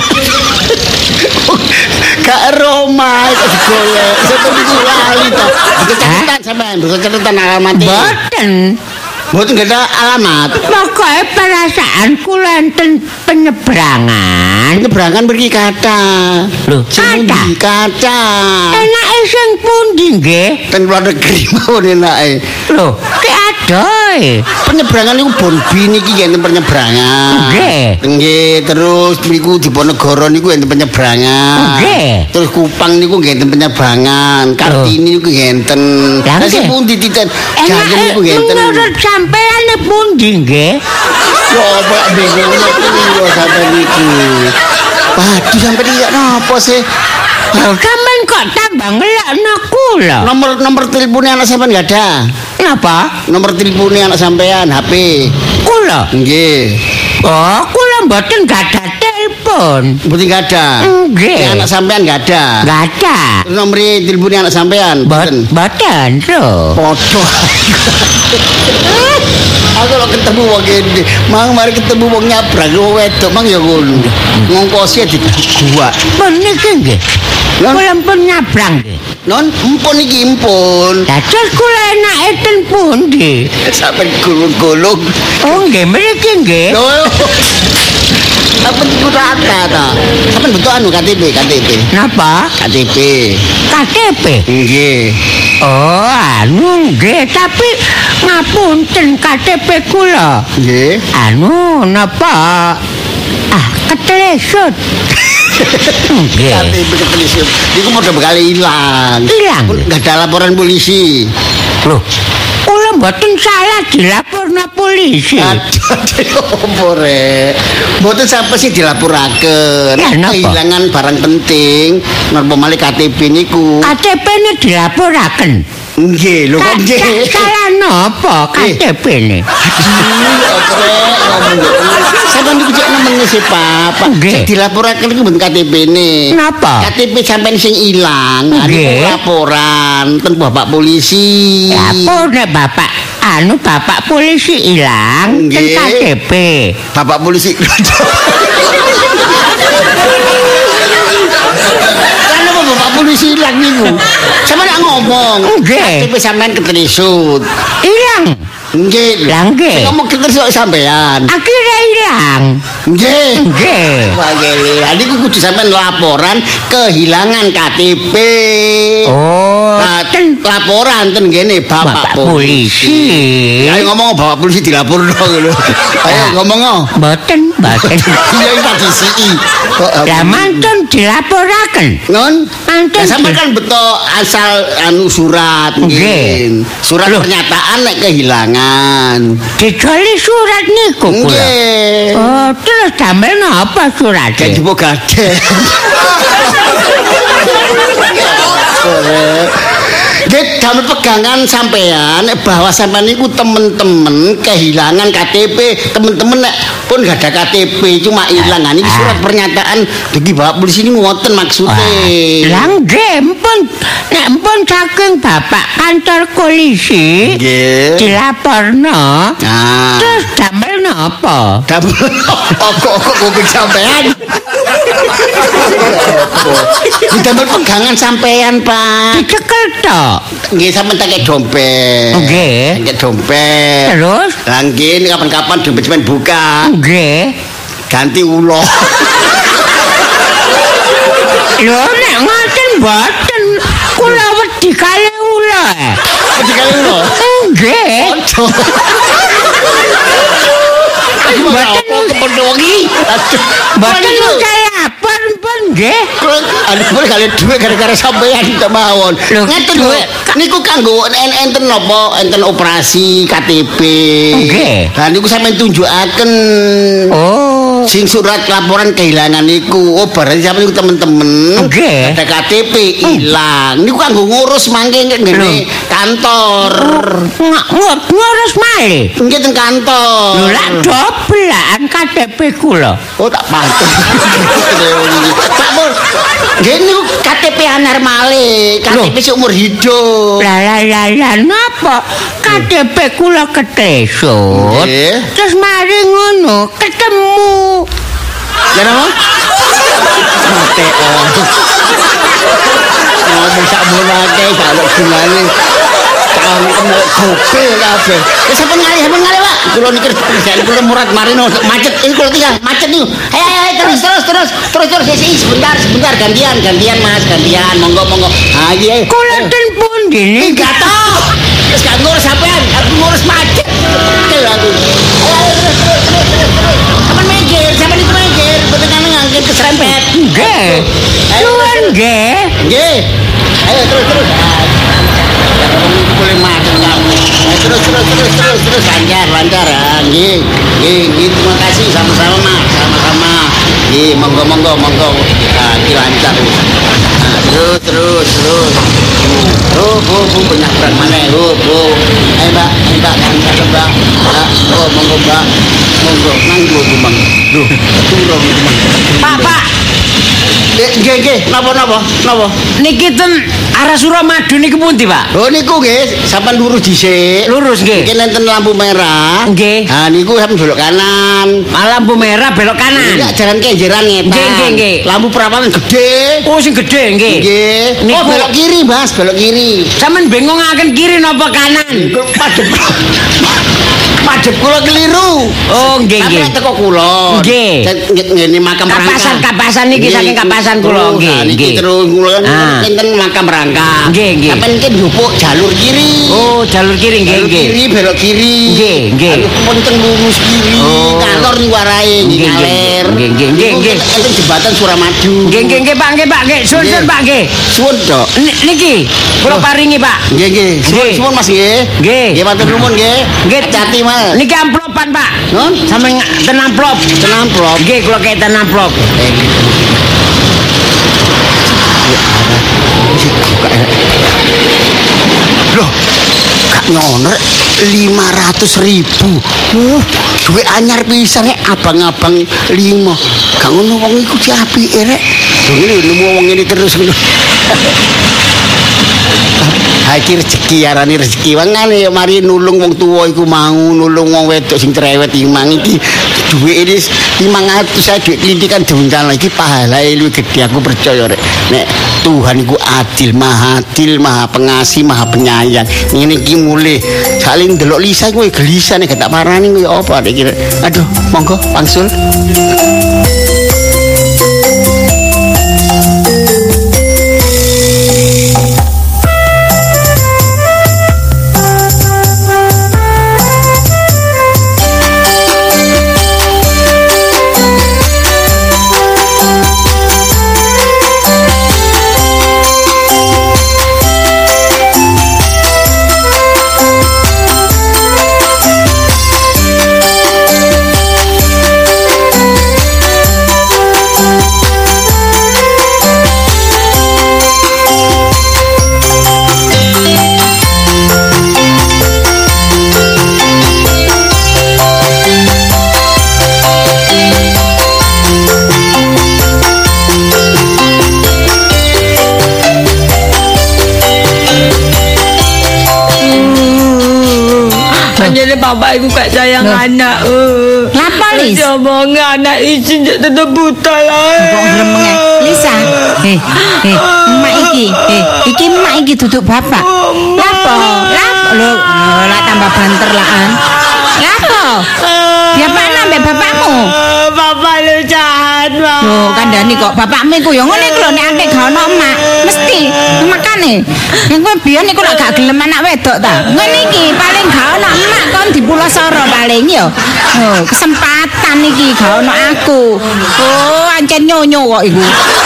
Kak Roma kok digolek. Sampeyan niku lali to. Bisa catatan sampean, bisa catatan alamat.
Boten.
Mboten nggak ada alamat.
Pokoke perasaan kula enten penyeberangan.
Nyeberangan mriki kata.
Lho,
Sing
kathah?
pundi? Kata.
Enake sing pundi nggih?
Ten luar negeri mawon enake.
Lho, ki adoh.
Penyeberangan niku Bonbi niki enten penyeberangan.
Nggih.
Nggih, terus niku Diponegoro niku enten penyeberangan.
Nggih.
Terus Kupang niku nggih enten penyeberangan. Kartini niku nggih enten.
Lah,
Lah sing
nggih.
pundi titen? Jajem niku nggih enten.
menurut sampeyan pundi nggih?
Coba bingung niku sampe niku. Waduh sampe iki napa sih?
Lho, sampeyan kok tambah ngelakno kula?
Nomor nomor teleponnya anak sampean enggak ada.
Napa?
Nomor teleponnya anak sampean H P.
Kula?
Nggih.
Oh, kula mboten gadah telepon.
Mboten enggak ada.
Nggih.
Yang anak sampean enggak ada.
Enggak ada.
Terus nomor teleponnya anak sampean
Mboten, mboten, lho.
Podo. Aku kalau ketemu wong gede, mang mari ketemu wong nyabrang wong wedok mang ya ngono. Ngongkosi di gua.
Pun niki nggih.
Lho?
Kula pun nyabrang nggih.
Non empun iki empun.
Dados kula enake ten pundi?
Sampai gulung-gulung.
Oh, nggih mriki nggih.
Lho. Apa iku rata ta? Sampeyan betul anu K T P, K T P.
Napa?
K T P.
K T P.
Nggih.
Oh, anu nggih, tapi ngapunten K T P kula.
Nggih.
Anu napa? Ah, ketelesut.
K
Nggih.
T P ketelisium. Iku modal bakal ilang.
Ilang?
Enggak ada laporan polisi.
Loh, kula mboten salah dilaporna polisi.
Aduh, apa rek? Mboten sampai sih dilaporaken.
Lah, napa?
Kehilangan barang penting, napa malih K T P niku.
K T P-ne dilaporaken.
Nggih, lho kok nggih.
Ka- Salah napa K T P-ne?
Sampeyan niku cek nemen sih, Pak. Pak,
Nggih.
cek dilaporaken niku mboten K T P-ne.
Napa?
K T P sampean sing ilang, anu
Nggih.
laporan ten Bapak polisi.
Apa nek bapak anu bapak polisi ilang ten
Nggih.
K T P.
Bapak polisi. Kan apa Bapak polisi ilang niku? Sampeyan nak ngomong.
Nggih.
K T P sampean ketelisut.
Ilang.
Nggih.
Lah, nggih.
Sing ngomong ketelisut sampean.
Akhirnya ilang.
Nggih.
Nggih.
Wah, nggih. Lah niku kudu sampean laporan kehilangan K T P.
Oh,
Nah, laporan ten ngene Bapak,
Bapak polisi.
Ayo ngomong Bapak polisi dilaporno ngono. Ayo ngomong.
Mboten, mboten.
Iya iki tak disiki.
Lah mantun dilaporaken.
Non,
Mantun.
ya sampean kan betul asal anu surat
Nggih.
nggih. Surat
Loh.
pernyataan nek kehilangan.
Dicoli surat niku kula.
Nggih.
Oh, terus damel napa
Kayak
suratnya?
jupuk gadek. Nggih, damel pegangan sampean bahwa sampean niku temen-temen kehilangan K T P, temen-temen nek pun gak ada K T P cuma ilang. Nah, niki surat pernyataan iki Bapak polisi ini ngoten maksude.
Lah nggih, mpun nek mpun saking Bapak kantor polisi
Nggih.
dilaporno.
Nah,
Terus damel napa?
damel kok kuping sampean. Damel pegangan sampean, Pak.
Dicekel tok.
Nggih sampean tak dompet.
Nggih.
Tak dompet.
Terus?
Lah nggih ini kapan-kapan dompet sampean buka.
Nggih.
Ganti ulo.
Lho nek ngoten mboten kula wedi kali ula.
Wedi kali ulo.
Nggih.
Mboten kependongi.
Mboten saya lapor pun nggih.
Aduh, boleh kali duit gara-gara sampean tak mawon.
Loh,
Ngeten lho.
duit.
Niku kanggo enten napa? Enten operasi K T P.
Nggih.
Lah niku sampean tunjukaken.
Oh.
Sing surat laporan kehilangan niku. Oh, berarti sampean niku temen-temen.
Nggih.
Ada K T P ilang. Niku kanggo ngurus mangke ngene kantor.
Ngut ngurus malih.
Nggih teng kantor.
Lho lak doblan K T P kula.
Oh tak pantun. Pak Mul, nggih niku K T P anyar malih, K T P seumur hidup.
Lah lah lah lah napa K T P kula ketesut.
Nggih.
Terus mari ngono ketemu.
Ya napa? Mate. Ngomong sak mulake gak ono gunane. Tahun kena gopel kabeh. Ya sampean ngalih, sampean ngalih, Pak. Kula niki kerjaan kula murat marino macet. Ini kula tinggal macet niku. Ayo ayo terus terus terus terus terus sih sebentar sebentar gantian gantian Mas gantian monggo monggo. Ah iya.
Kula ten pundi niki?
Enggak tahu. Terus gak ngurus sampean, aku ngurus macet. Kel aku. Sampean minggir, sampean itu minggir, betul ngangge keserempet.
Nggih. Suwun nggih.
Nggih. Ayo terus terus. Boleh macet kamu. Terus terus terus terus terus lancar lancar. Nggih. Nggih, nggih terima kasih sama-sama Mas, sama-sama. Nggih, monggo monggo monggo. Ah, iki lancar. Nah, terus terus terus. Oh, oh, oh, banyak berat mana? Oh, oh. Ayo Mbak, ayo Mbak, lancar Mbak. Ah, oh, monggo Mbak. Monggo, nanggo tuh Bang. Duh, turun tuh Bang.
Pak, Pak.
Eh, nggih nggih, napa napa? Napa?
Niki ten arah Suramadu niki pundi, Pak?
Oh niku nggih, sampean lurus dhisik.
Lurus nggih.
Mungkin enten lampu merah.
Nggih.
Ha niku sampean belok kanan.
Ah, lampu merah belok kanan.
Enggak jalan kenjeran ngetan.
Nggih, nggih, nggih.
Lampu perawanan gede.
Oh sing gede nggih.
Nggih. Oh
Niku-
belok kiri, Mas, belok kiri.
Sampeyan bingungaken kiri napa kanan?
Niku padhep. Padhep kula keliru.
Oh nggih nggih.
Sampeyan teko kula.
Nggih.
Ngene makam rangka.
Kapasan kapasan niki saking kapasan kula
Terus,
nggih
nah, niki
nggih.
terus kula kan
Ah.
enten makam rangka.
Nggih, nggih.
Sampeyan iki njupuk jalur kiri.
Oh jalur kiri nggih
Belok
nggih.
kiri, belok kiri.
Nggih, nggih.
Anu ponteng lurus kiri.
Oh.
Ngalor niku arahe nggih
Nggih, nggih.
ngaler.
Nggih, nggih, nggih,
Niku
nggih.
enten jembatan Suramadu.
Nggih nggih nggih Pak nggih Pak nggih. Sun sun
Nggih.
Pak nggih.
Suwun, Dok.
N- Niki kula paringi Pak.
Nggih, nggih. Suwun,
Nggih.
suwun Mas nggih.
Nggih.
Nggih, matur nuwun nggih.
Nggih.
Hati-hati, Mas.
Niki amplopan Pak.
Nun,
Sampe ten amplop.
ten amplop.
Nggih kula kei ten amplop.
Eh, Loh, Kak Nyoner lima ratus ribu. Uh, duit anyar pisan rek abang-abang lima. Gak ngono wong iku diapike rek. Lho ngene nemu wong ngene terus ngono. Ha iki rezeki arane rezeki. Wangane ya mari nulung wong tuwa iku mau nulung wong wedok sing cerewet iki mang iki duit ini lima ratus saya duit kelintikan diuncal lagi pahala lu gede aku percaya rek nek Tuhan ku adil maha adil maha pengasih maha penyayang ini ki mulai saling delok Lisa gue gelisah nih gak tak parani gue apa deh kira aduh monggo pangsul.
Jadi bapak iku kayak sayang Loh. anak. Uh.
Lapa Lis?
Ngomong anak izin jadi tetap buta lah.
Kok gremeng Lisa? Eh, eh, emak iki, eh, iki emak iki duduk bapak. Lapo? Lapo? Lo, lah tambah banter laan. Lapo? Ya mana mbak bapakmu?
Bapak lu jahat, Pak.
Loh, kandhani kok bapakmu iku ya ngene iku lho nek ate gak ono emak, mesti makane. Nek kowe biyen iku lak gak gelem anak wedok ta. Ngene iki paling gak ono emak kon di Pulau Soro paling ya. Oh, kesempatan iki gak ono aku. Oh, ancen nyonyo kok iku.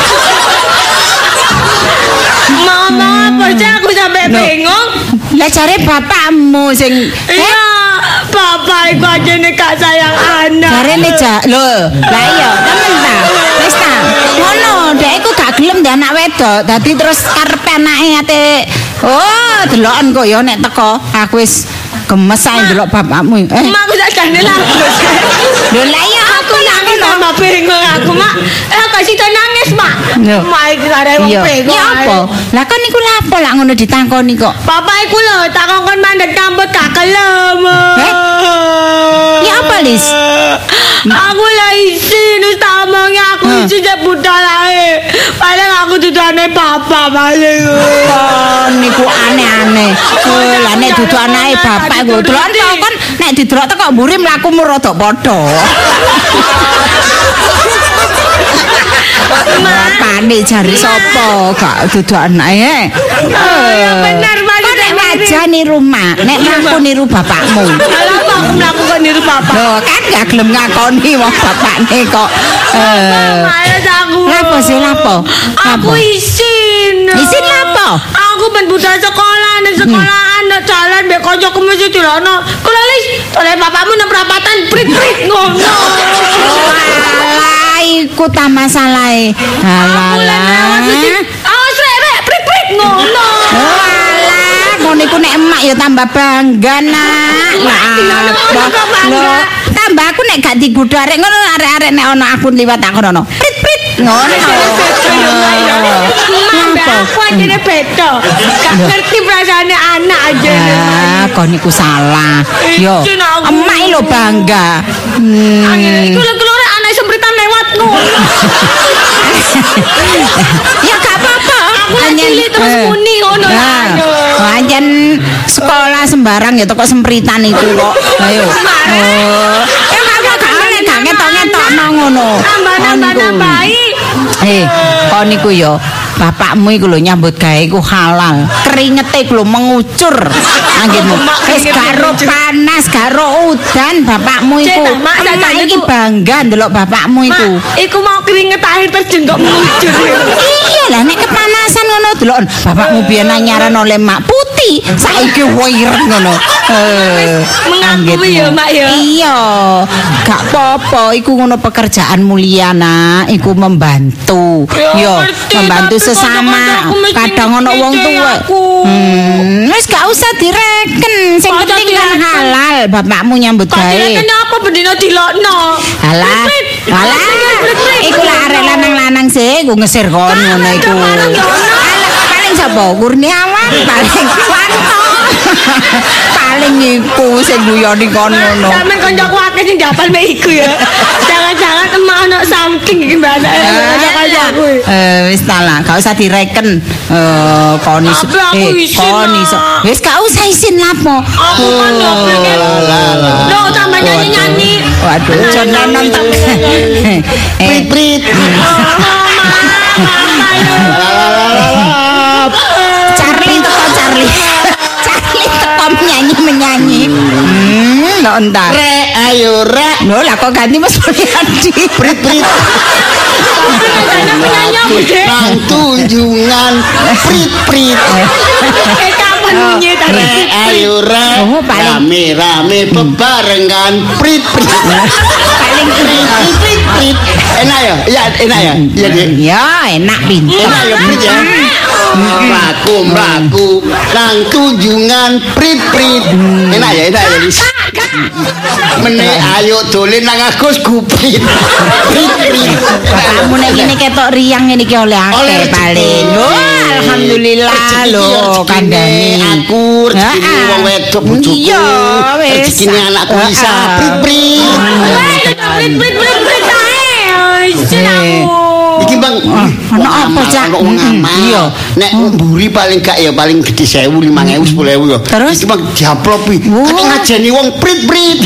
Mama, apa sih aku sampai bingung?
Lah jare bapakmu sing
iya, bapak iku aja nek gak sayang anak.
Jarene ja, lho, lah iya, temen ta. Wis ta. Ngono, dhek iku gak gelem ndek anak wedok, dadi terus karepe anake ate. Oh, deloken kok ya nek teko. Aku wis gemes ae ndelok bapakmu. Eh,
Mak aku sakjane lah.
lho lah iya
Aku nangis tambah bingung aku, Mak. Eh, kasih to nangis, Mak. Mak iki arek wong bingung.
Ya apa? Lah kan niku lapo lak ngono ditangkoni kok.
Bapak iku lho takon kon mandek kampus gak kelem.
Eh? Ya apa, Lis?
Aku lah izin wis tak omongi aku izin jek budal ae. Paling aku dudane bapak paling.
Oh, niku aneh-aneh. Oh, lah nek dudu anake bapak iku delok kon nek didelok teko mburi mlakumu rada padha. Bapakne jare sapa gak dudu anake.
Oh, ya bener Mas.
Nek aja niru mak, nek mlaku niru bapakmu.
Lha aku mlakukan niru bapak.
Loh, kan gak gelem ngakoni wong bapakne kok. Eh.
aku.
Lapo sih lapo?
Aku izin.
Izin lapo?
Aku ben budal sekolah ning sekolahan nek jalan mbek kancaku mesti dilono. Kulo lis, oleh bapakmu nang perapatan prit-prit ngono.
Alah, iku ta masalahe. Alah.
Awas rek, prit-prit ngono.
Alah, ngono iku nek emak ya tambah bangga nak. Lah, tambah aku nek gak digodho arek ngono arek-arek nek ana aku liwat aku ngono. Prit-prit ngono.
Aku aja beda. Gak ngerti perasaane anak aja.
Ah, kok niku salah. Yo, emak lho bangga. Hmm.
Iku lho kelore anak sempritan lewat ngono.
Ya gak apa-apa.
Aku cilik terus muni ngono lah.
Pancen sekolah sembarang ya toko sempritan iku kok. Ayo. Oh. Ya gak gak oleh gak ngetok-ngetokno ngono.
Tambah-tambah-tambahi.
Eh, kok niku yo bapakmu iku lho nyambut gawe iku halal. Keringete iku lho mengucur. Anggitmu. Wis gak ro panas, gak ro udan bapakmu iku. Emak iki bangga ndelok bapakmu iku.
Iku mau keringet air terjun kok mengucur.
Iya lah nek kepanasan ngono delok bapakmu biyen nyaran oleh mak putih, saiki wireng ngono. Eh,
mengakui ya mak ya.
Iya, gak apa-apa iku ngono pekerjaan mulia nak, iku membantu. Yo, membantu sesama. Kadang ono wong tuwa. Hmm, wis gak usah direken, sing penting kan halal bapakmu nyambut gawe.
Kenapa bendina dilokno?
Alah, alah. Iku lah arek lanang-lanang sih, ku ngesir kon ngono iku. Paling sapa? Kurniawan paling Wanto. Paling iku sing guyoni kono ngono.
Sampeyan kancaku akeh sing dapal mek iku ya. Jangan-jangan emak ono saking iki mbak kancaku.
Eh wis ta lah, gak usah direken. Eh kon iso.
Tapi aku isin,
kon iso.
lah.
Wis gak usah isin lapo.
Aku kan yo pengen. Loh, tambah nyanyi-nyanyi.
Waduh, jonenon tak.
Prit prit.
Charlie teko Charlie. Charlie teko menyanyi menyanyi. Hmm, lo entar.
Re ayo re.
Loh lah kok ganti Mas Mulyadi.
Prit prit.
Penyanyi apa, Dek?
Nang tunjungan prit prit.
Eh kapan bunyi tadi?
Re ayo re.
Oh, paling-
Rame rame bebarengan prit prit.
Paling
Prit prit prit. Enak ya? Iya enak ya? Iya Dik.
ya enak pinter.
Enak ya prit ya. Mlaku mlaku nang tunjungan prit prit. Enak ya enak ya Lis. Mene ayo dolen nang Agus Guprit. Prit prit.
Kamu nek ngene ketok riang ngene iki oleh
Oleh
akeh
rezeki.
paling. Wah, alhamdulillah
Rezeki
lho
ya, rezekine
kandhane.
aku, rezekine
Heeh.
wong wedok bojoku.
Iya, wis.
Rezekine anakku
Heeh.
Isa prit prit.
Prit prit prit prit ae. Isin aku.
Iki Bang,
ono apa, Cak?
Ono wong
Mm-mm,
amal.
iya.
Nek mburi paling gak ya paling gede seribu, lima ribu, sepuluh ribu ya.
Terus?
Iki Bang diaplopi.
Wah.
Kan ngajeni wong prit-prit.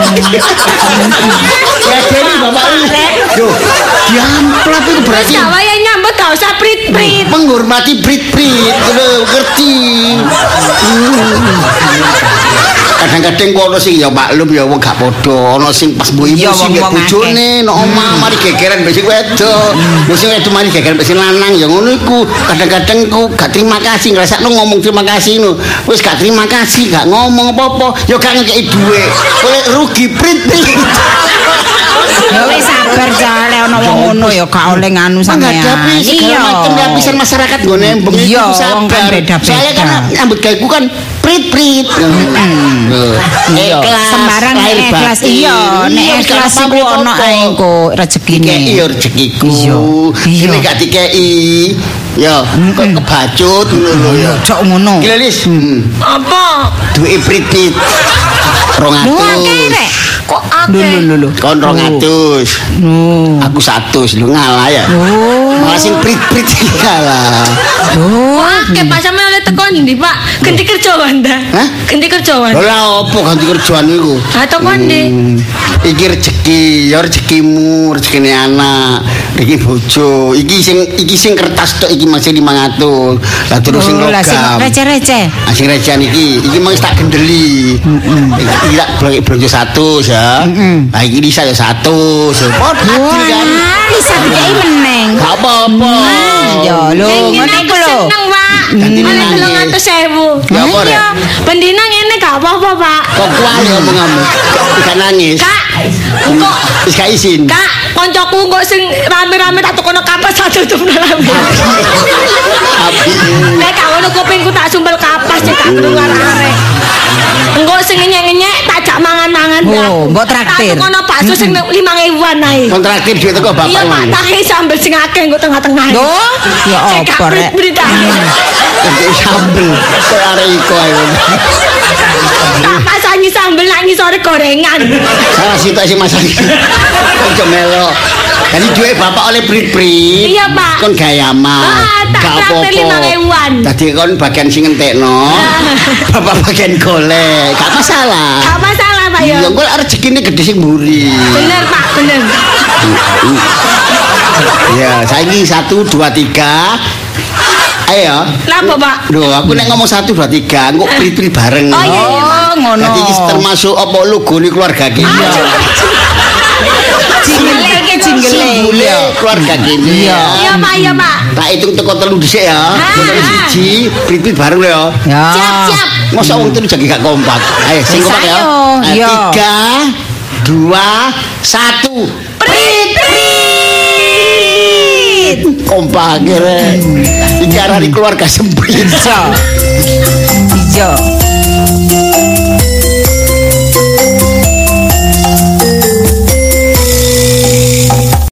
Ngajeni Bapak iki. Yo, diamplop itu berarti
Wis wae nyambut gak usah prit prit.
menghormati prit-prit. Lho, ngerti. Kadang-kadang kok ono sing ya maklum ya wong gak padha, ono sing pas mbok
Iya,
ibu sing
wong-wong
bojone, nek omah mari gegeran mbek sing wedok. Mbok sing wedok mari gegeran mbek sing lanang ya ngono iku. Kadang-kadang ku gak terima kasih, ngrasakno ngomong terima kasih ngono. Wis gak terima kasih, gak ngomong apa-apa, ya gak ngekeki dhuwit. Oleh rugi prit-prit.
Ya wis sabar jale ono wong ngono ya gak oleh nganu sampean.
Menghadapi segala macam lapisan masyarakat nggo nembeng itu
Iya,
sabar.
wong kan beda-beda.
Soalnya kan nyambut gaweku kan prit-prit.
Iya.
Ikhlas,
Sembarang nek
lahir
ikhlas
batin.
iya, nek
Iya,
ikhlas
gak
iku
apa-apa.
ono ae engko rezekine.
Dikei ya rezekiku.
Iya. Iya.
Ini gak dikei. Ya, kok kebacut ngono lho ya.
Cok ngono.
Gila Lis. Hmm.
Apa?
Duwe prit-prit.
Lu akeh
Rongatus.
rek.
Kok
Lho
akeh?
lho lho.
Kon rongatus.
Oh.
Aku satu, lu ngalah ya.
Oh.
Malah sing prit-prit kalah.
Oh.
Wah, kayak pas sampean oleh teko ndi, Pak? Ganti kerja Wanda.
Hah?
Ganti kerja Wanda.
Lah opo ganti kerjaan iku?
Ha teko ndi?
Hmm, iki rezeki, ya rezekimu, rezekine anak, iki bojo, iki sing iki sing kertas tok iki masih lima ratus. Lah terus sing
Oh, lah sing
logam.
receh-receh.
Ah, sing recehan iki, iki mung tak gendeli. Iki tak blok blonjo satu ya. Lah iki bisa ya satu. Padha
Wah,
kan.
bisa dikei meneng.
Gak apa-apa.
Ya lho,
Sing
ngono
ngene
iku
aku
lho.
seneng, Pak.
Ganti
Oleh
nangis.
telung atus ewu.
Ya apa, Rek?
Iya, bendina ngene gak apa-apa, Pak.
Kok kuali omonganmu? Gak nangis.
Kak, kok
Wis gak izin.
Kak, koncoku kok sing rame-rame tak tukono kapas satu tuh rame.
Api.
Nek gak ngono kupingku tak sumbel kapas cek gak krungu arek. Engko sing ngenyek-ngenyek tak jak mangan-mangan.
Oh, mbok traktir.
Tak tukono bakso sing lima ribuan ae.
Kontraktif duit teko bapak.
Iya, Pak, tak sambel sing akeh engko tengah-tengah.
Loh, ya
Cek
apa, Rek?
berita.
Jadi sambel. Kok arek iko ae.
Tak pasangi sambel nak ngisore gorengan.
Salah situ sing masak. Ojo melo. Jadi duit bapak oleh prit-prit.
Iya, Pak.
Kon gaya amal.
Ah, tak
Gak
traktir lima ribuan.
Tadi kon bagian sing ngentekno. Bapak bagian golek. Gak masalah.
Gak masalah, Pak ya.
Ya kok rezekine gede sing mburi.
Bener, Pak, bener.
Ya, saiki satu dua tiga. Ayo.
Napa, Pak?
Duh, aku nek ngomong satu dua tiga, engko prit-prit bareng.
Oh, iya, iya.
Oh, ngono.
Jadi iki termasuk apa logo ni keluarga kita.
Jingle iki jingle.
Simbole keluarga kita.
Iya.
Iya, Pak, iya, Pak.
Tak hitung teko telu dhisik ya. Telu siji, prit-prit bareng lho ya.
Ya.
Siap, siap.
Masa wong telu jagi gak kompak. Ayo sing
Wis,
kompak ya.
ayo.
Nah,
Iya.
Tiga, dua, satu.
Prit, prit.
Kompak kira. Iki arane keluarga semprit.
Ijo. Ijo.